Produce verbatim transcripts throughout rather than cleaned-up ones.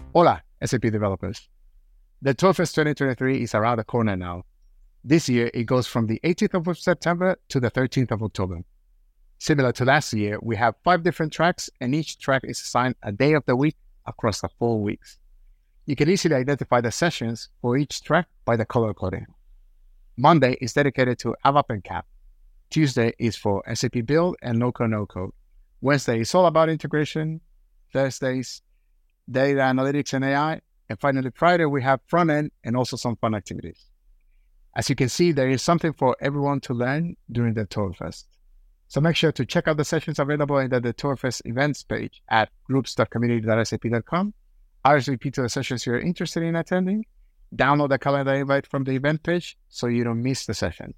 Hola, S A P developers. The TourFest twenty twenty-three is around the corner now. This year, it goes from the eighteenth of September to the thirteenth of October. Similar to last year, we have five different tracks, and each track is assigned a day of the week across the four weeks. You can easily identify the sessions for each track by the color coding. Monday is dedicated to ABAP and C A P. Tuesday is for S A P Build and No-Code, No-Code. Wednesday is all about integration. Thursdays, data analytics and A I. And finally, Friday, we have front end and also some fun activities. As you can see, there is something for everyone to learn during the TourFest. So make sure to check out the sessions available in the, the TourFest events page at groups dot community dot s a p dot com. R S V P to the sessions you're interested in attending. Download the calendar invite from the event page so you don't miss the session.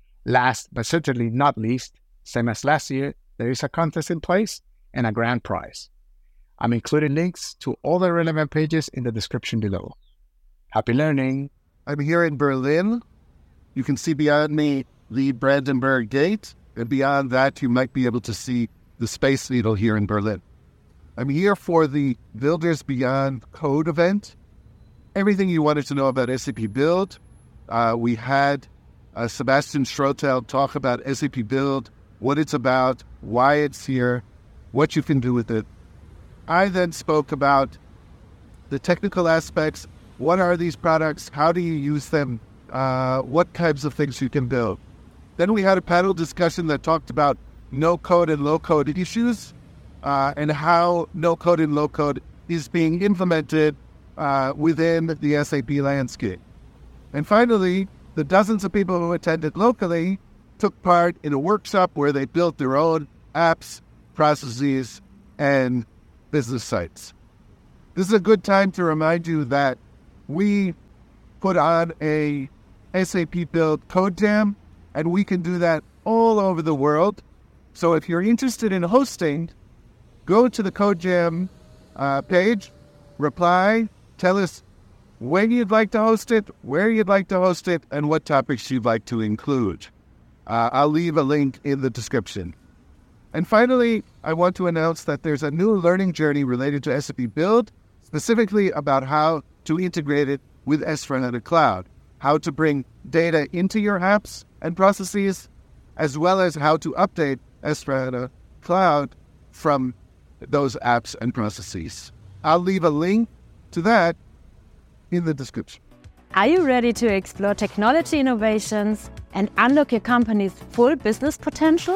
Last, but certainly not least, same as last year, there is a contest in place and a grand prize. I'm including links to all the relevant pages in the description below. Happy learning! I'm here in Berlin. You can see beyond me the Brandenburg Gate, and beyond that you might be able to see the Space Needle here in Berlin. I'm here for the Builders Beyond Code event. Everything you wanted to know about S A P Build. Uh, we had uh, Sebastian Schrotel talk about S A P Build, what it's about, why it's here, what you can do with it. I then spoke about the technical aspects. What are these products? How do you use them? Uh, what types of things you can build? Then we had a panel discussion that talked about no-code and low-code issues uh, and how no-code and low-code is being implemented uh, within the S A P landscape. And finally, the dozens of people who attended locally took part in a workshop where they built their own apps, processes, and business sites. This is a good time to remind you that we put on a S A P Build Code Jam, and we can do that all over the world. So if you're interested in hosting, go to the Code Jam uh, page, reply, tell us when you'd like to host it, where you'd like to host it, and what topics you'd like to include. Uh, I'll leave a link in the description. And finally, I want to announce that there's a new learning journey related to S A P Build, specifically about how to integrate it with S four HANA Cloud, how to bring data into your apps and processes, as well as how to update S four HANA Cloud from those apps and processes. I'll leave a link to that in the description. Are you ready to explore technology innovations and unlock your company's full business potential?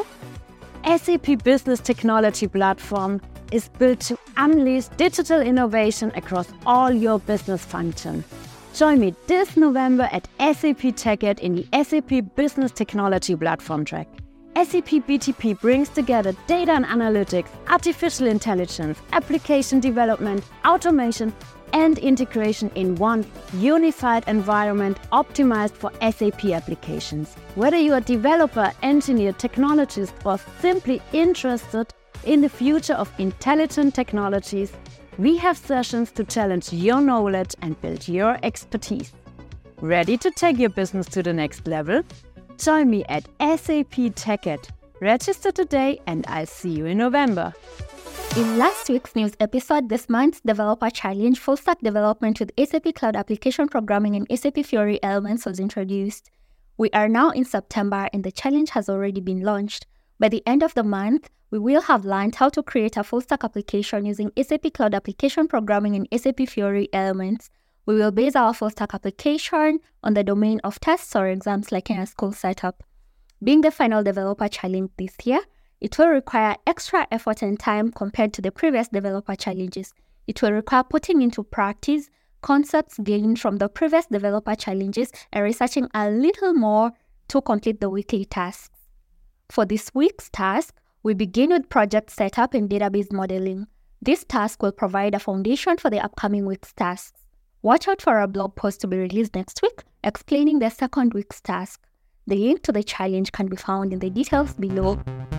S A P Business Technology Platform is built to unleash digital innovation across all your business functions. Join me this November at S A P TechEd in the S A P Business Technology Platform track. S A P B T P brings together data and analytics, artificial intelligence, application development, automation, and integration in one unified environment optimized for S A P applications. Whether you are a developer, engineer, technologist, or simply interested in the future of intelligent technologies, we have sessions to challenge your knowledge and build your expertise. Ready to take your business to the next level? Join me at S A P TechEd. Register today and I'll see you in November. In last week's news episode, this month's Developer Challenge Full Stack Development with S A P Cloud Application Programming and S A P Fiori Elements was introduced. We are now in September and the challenge has already been launched. By the end of the month, we will have learned how to create a full stack application using S A P Cloud Application Programming and S A P Fiori Elements. We will base our full stack application on the domain of tests or exams like in a school setup. Being the final developer challenge this year, it will require extra effort and time compared to the previous developer challenges. It will require putting into practice concepts gained from the previous developer challenges and researching a little more to complete the weekly tasks. For this week's task, we begin with project setup and database modeling. This task will provide a foundation for the upcoming week's tasks. Watch out for a blog post to be released next week explaining the second week's task. The link to the challenge can be found in the details below.